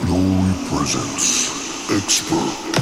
Glory presents Expert.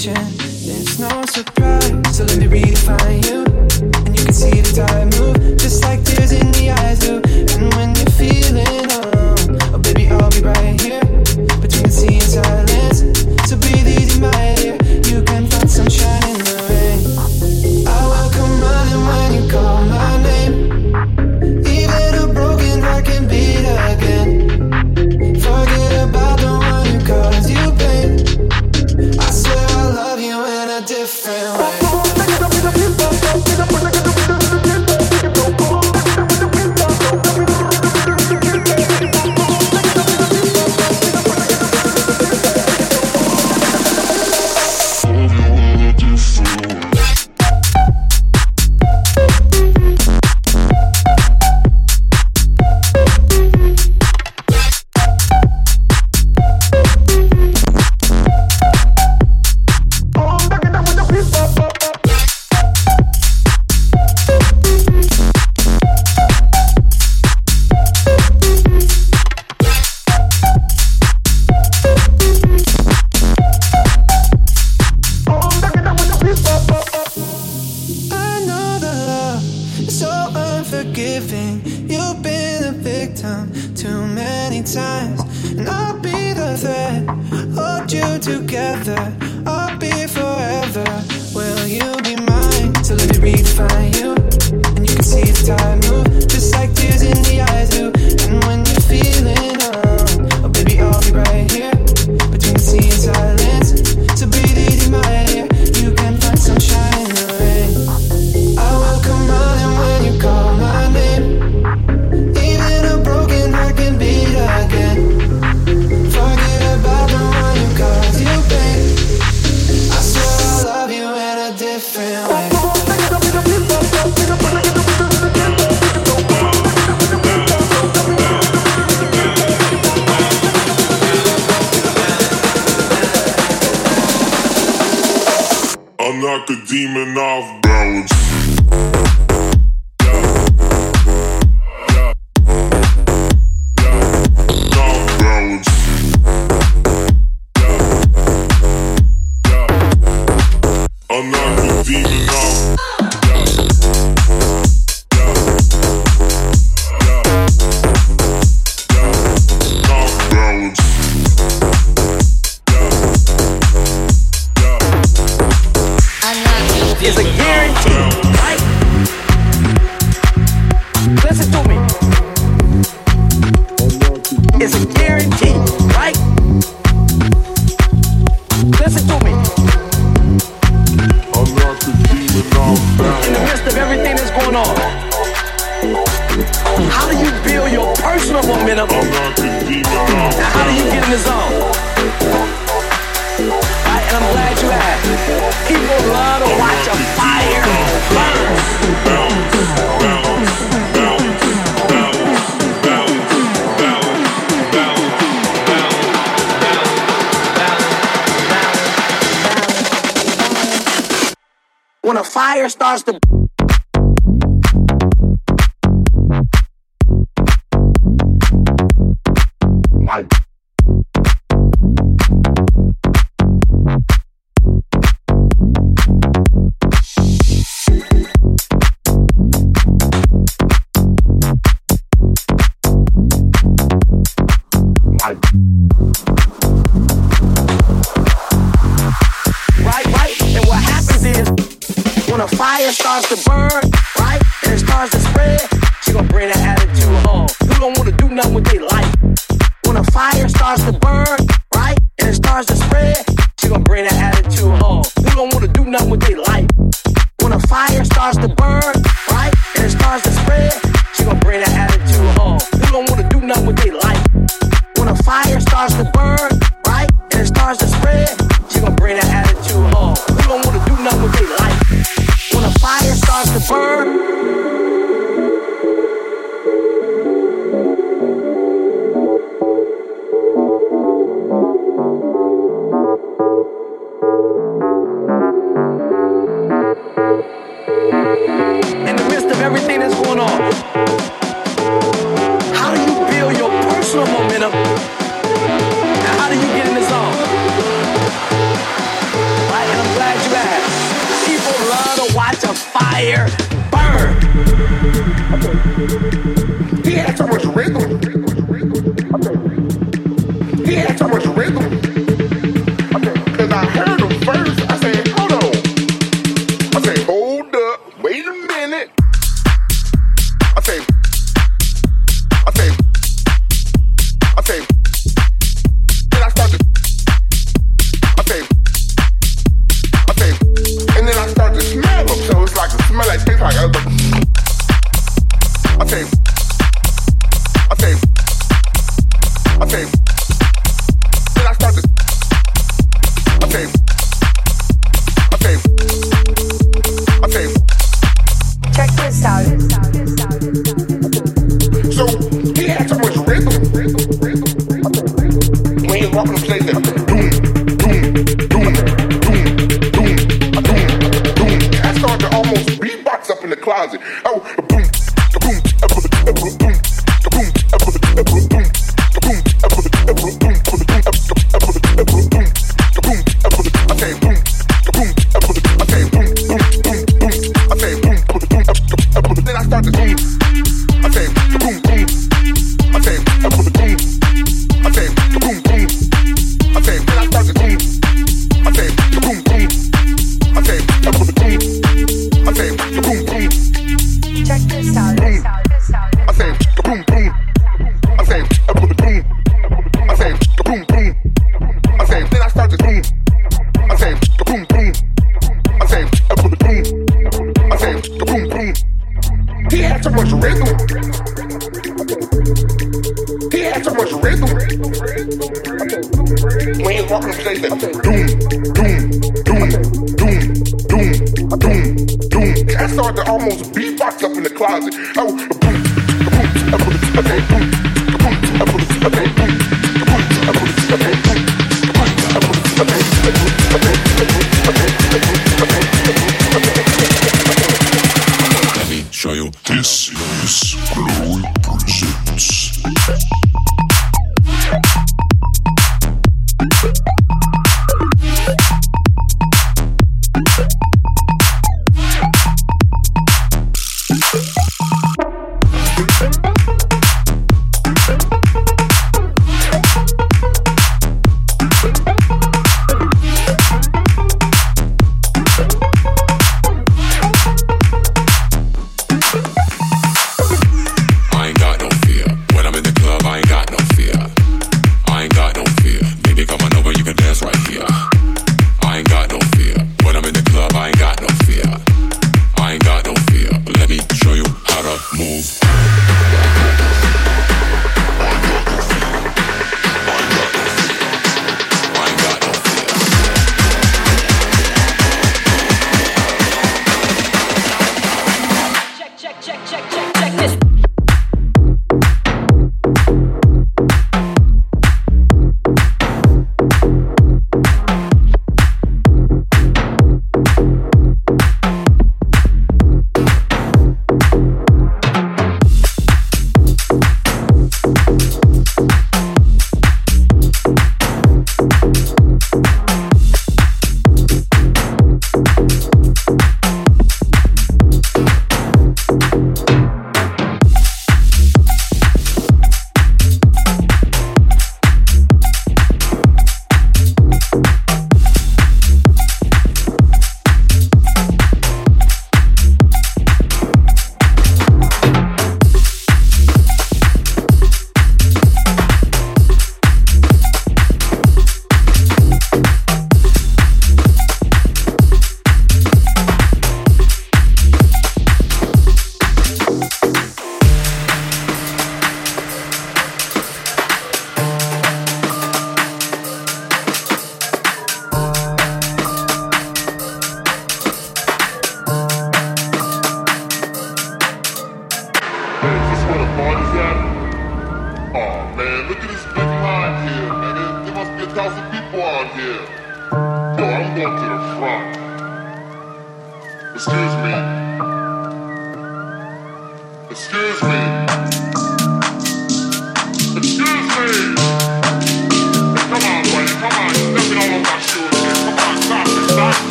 conversation. It's no surprise, so let me redefine you. And you can see the tide move, just like tears in the eyes do. And when you're feeling alone, oh baby, I'll be right here, between the sea and silence. So breathe easy, my dear, you can find sunshine in the rain. I will come running when you call my name. Even a broken heart can beat again. Forget about the one who caused you pain. I swear I love you in a different way. You've been a victim too many times, and I'll be the thread, hold you together, I'll be forever. Will you be mine? So let me redefine you. And you can see the tide move, just like tears in the eyes do. And when you're feeling alone, oh baby, I'll be right here, between the sea and silence. So breathe easy, my dear, you can find sunshine in the rain. I will come running when you call my name. Even a broken heart can beat again. Forget about the one who caused you pain. I swear I love you in a different way. I knock a demon off balance. Is a guarantee, right? Listen to me. It's a guarantee, right? Listen to me. In the midst of everything that's going on, how do you build your personal momentum? And how do you get in the zone? Right, and I'm glad you asked. People love to watch a fire burn. When a fire starts to starts to burn, right? And it starts to spread, she gon' bring that attitude home. Who don't wanna do nothing with their life? When a fire starts to burn, right? And it starts to spread, she gon' bring that attitude home. Who don't wanna do nothing with their life? When a fire starts to burn, right? And it starts to spread, she gon' bring that attitude home. Who don't wanna do nothing with their life? When a fire starts to burn, right? And it starts to spread, she gon' bring that attitude home. Who don't wanna do nothing with their life? When a fire starts to burn, fire burn. He had so much rhythm. He had so much rhythm. Cause I heard him first. I said, hold on. I said, hold up, wait a minute. I say, then I start to, and then I start to smell them. So it's like, it smell like, tastes like, then I start to, check this out. So he had so much rhythm. When he was walking the stage, boom, boom, boom, boom, boom, boom, boom. I started to almost beatbox up in the closet. Oh, boom, boom, boom, boom, boom, then I start to boom. I say boom boom. I say boom boom. I say boom boom. I say then I start to boom. I say boom boom. I say boom boom. I say boom boom. Check this out. I say boom boom. I say boom boom. I say boom boom. I say then I start to boom. I say boom boom. I say boom boom. I say boom boom. He had so much rhythm. He had so much rhythm. When he was walking the stage, doom, doom, doom, doom, doom, doom, doom. I started to almost beatbox up in the closet. Oh, boom, boom, okay, boom, boom, okay, boom, Let me show you. This is Chloe Presents.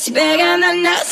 It's bigger than us.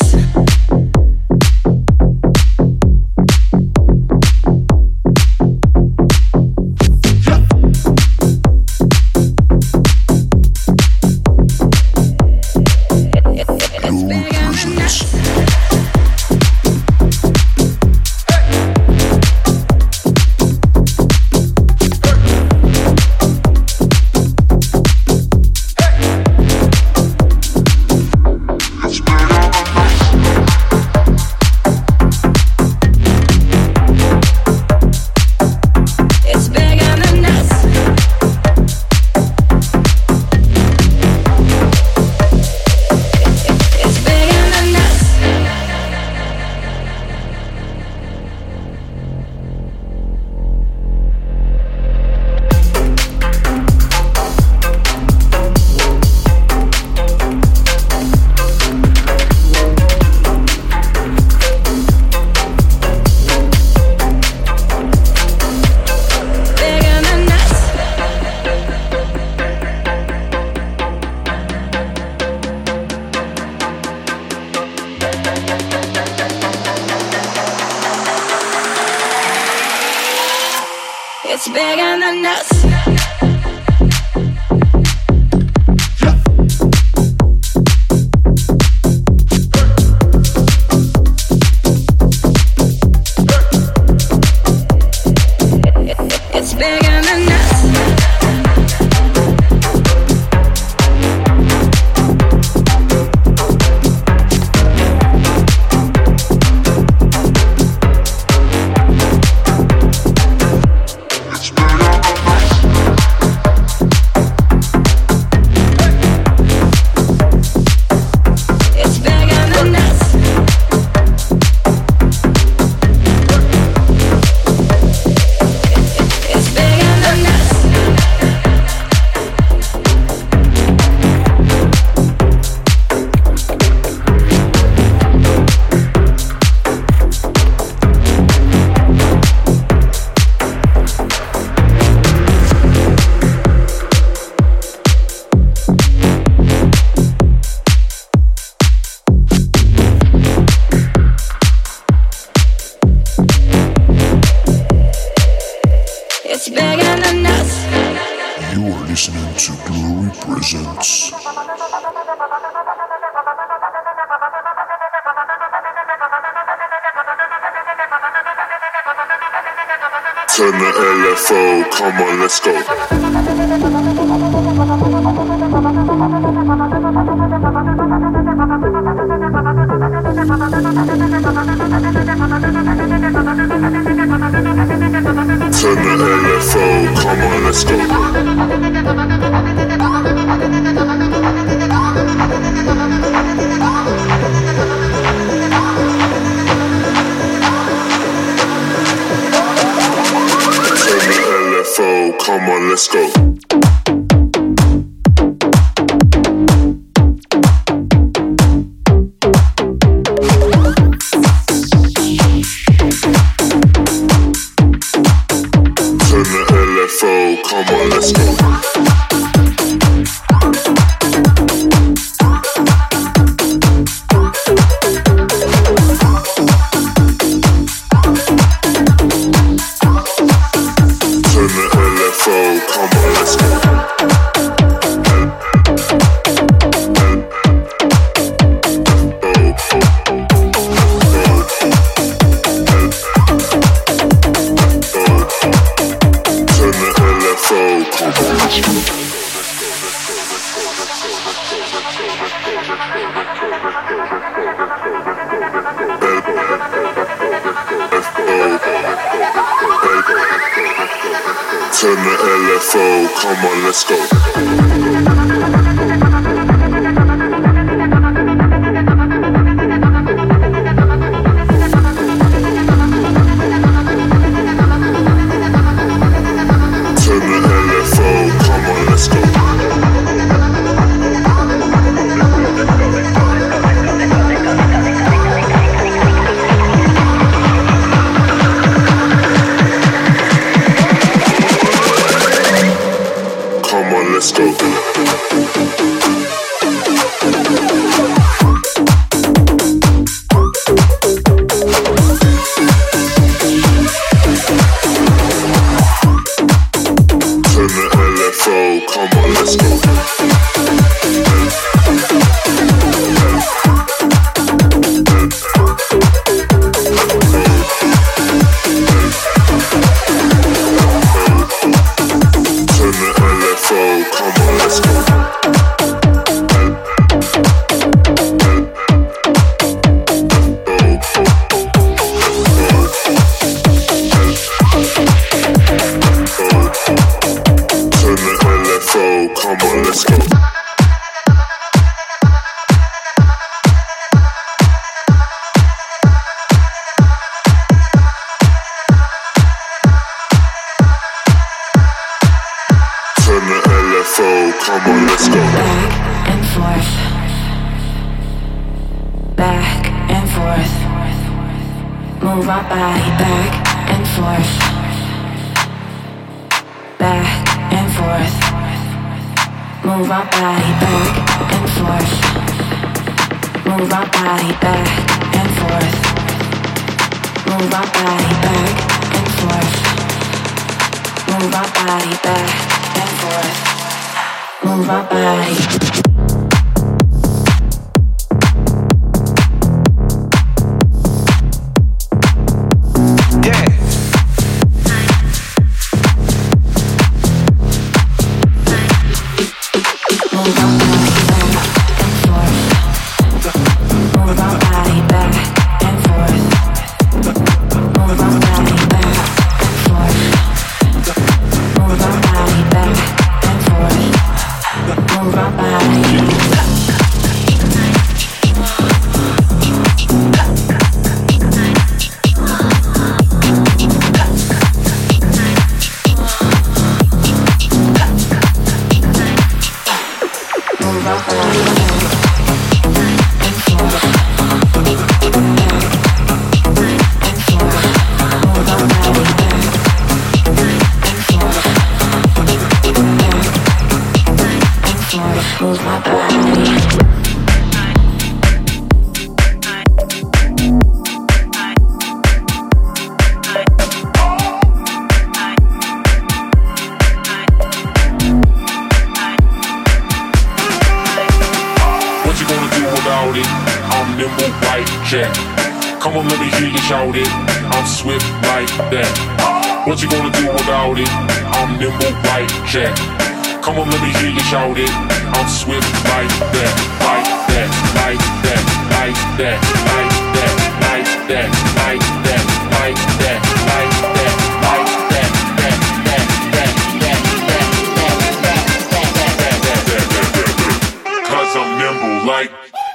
It's bigger than us. It's bigger than us. It's bigger than us. You are listening to Glory Presents. Turn the LFO, come on, let's go. Turn the LFO, come on, let's go. Turn the LFO, come on, let's go. Come on, let's go. Turn the LFO, come on, let's go. Turn the LFO, come on, let's go. Let's go. LFO, come on, let's go. Turn the LFO, come on, let's go. Come on, let's go. Turn the LFO, come on, let's go. Back and forth. Back and forth. Move our body back and forth. Back and forth. Move our body back and forth. Move our body back and forth. Move our body back and forth. Move our body back and forth. Move our body. Come on, let me hear you shout it. I'm swift like that. What you gonna do without it? I'm nimble like Jack. Come on, let me hear you shout it. I'm swift like that, like that, like that, like that, like that, like that, like that, like that, like that, like that, that. 'Cause I'm nimble like.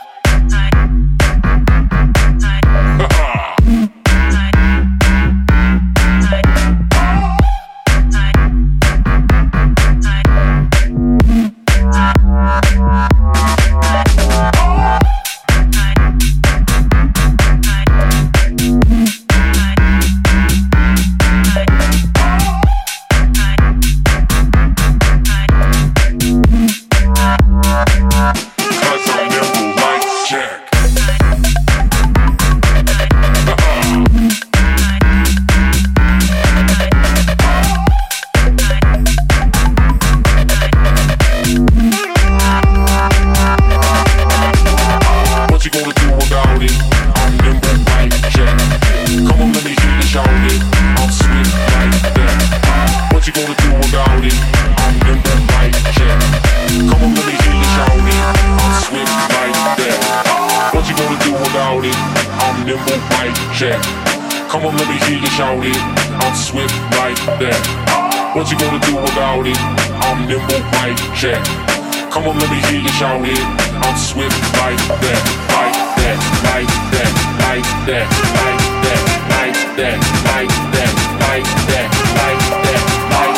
Come on, let me hear you shout it. I'm swift like that. What you gonna do without it? I'm nimble like Jack. Come on, let me hear you shout it. I'm swift like that, like that, like that, like that, like that, like that, like that, like that, like that, like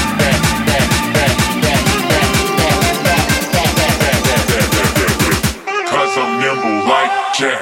that. 'Cause I'm nimble like Jack.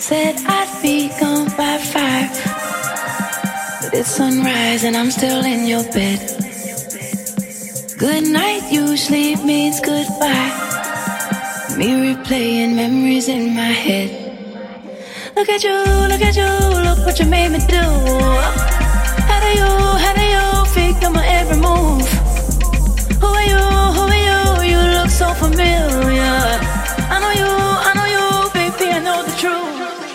Said I'd be gone by 5, but it's sunrise and I'm still in your bed. Good night usually means goodbye. Me replaying memories in my head. Look at you, look what you made me do. How do you figure my every move? Who are you, you look so familiar. I know you, baby, I know the truth.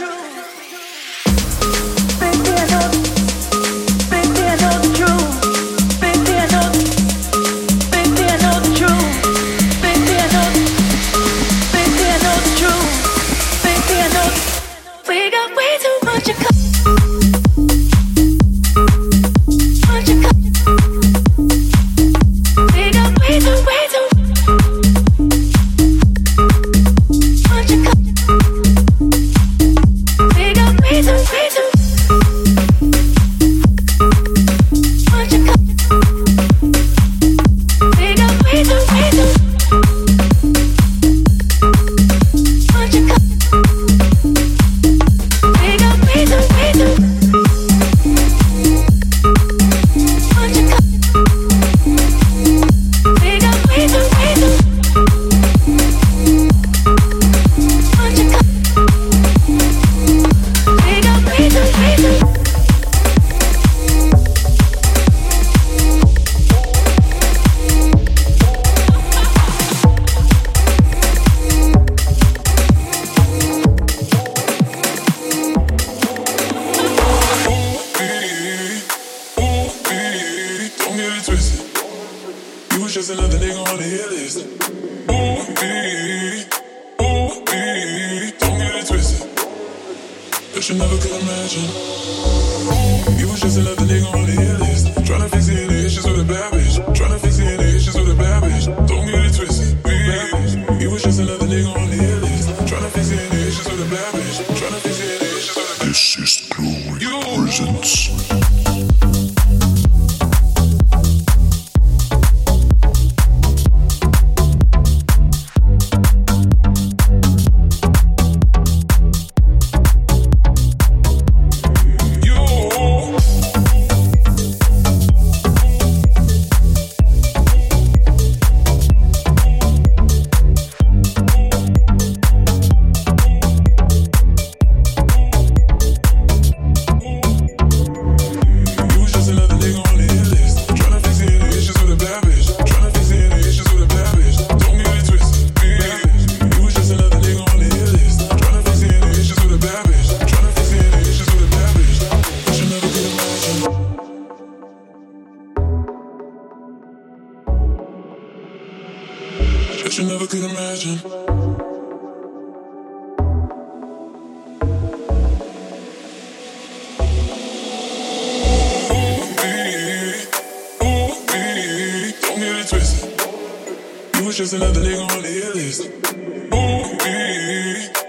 Just another nigga on the hit list.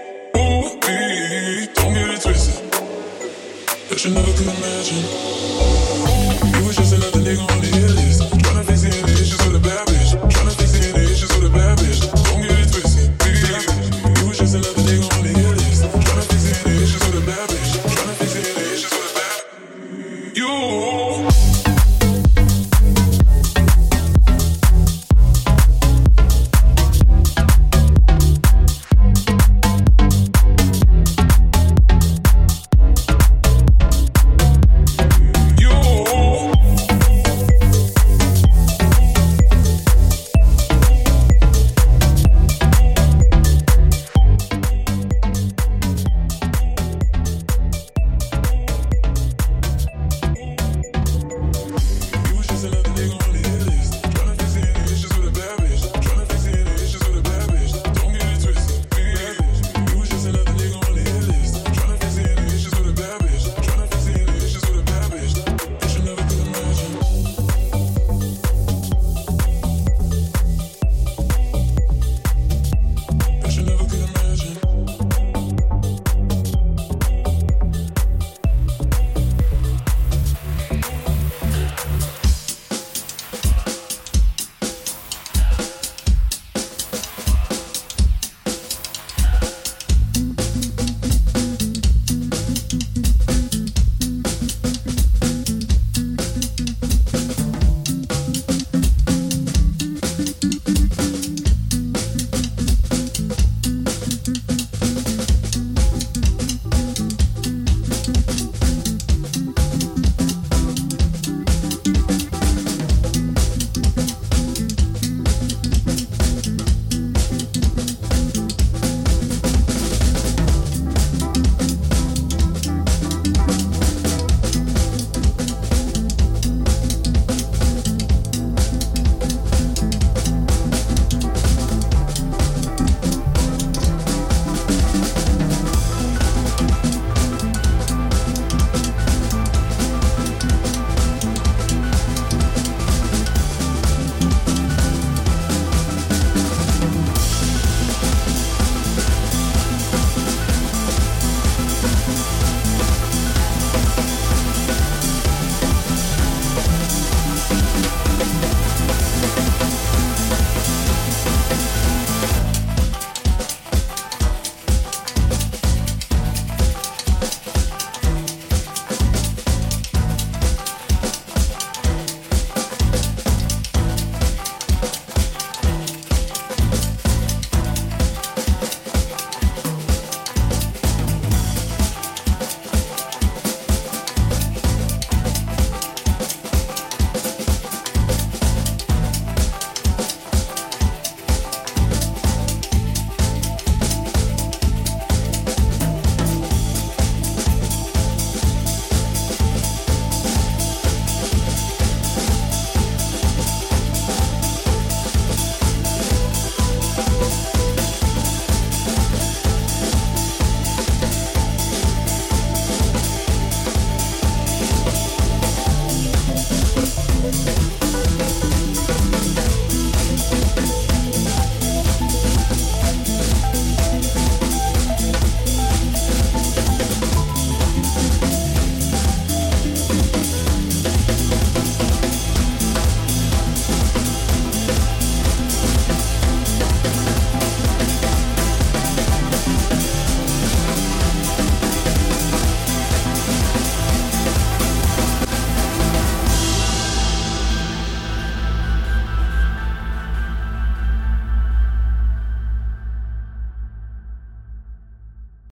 Don't get it twisted. That you never could imagine.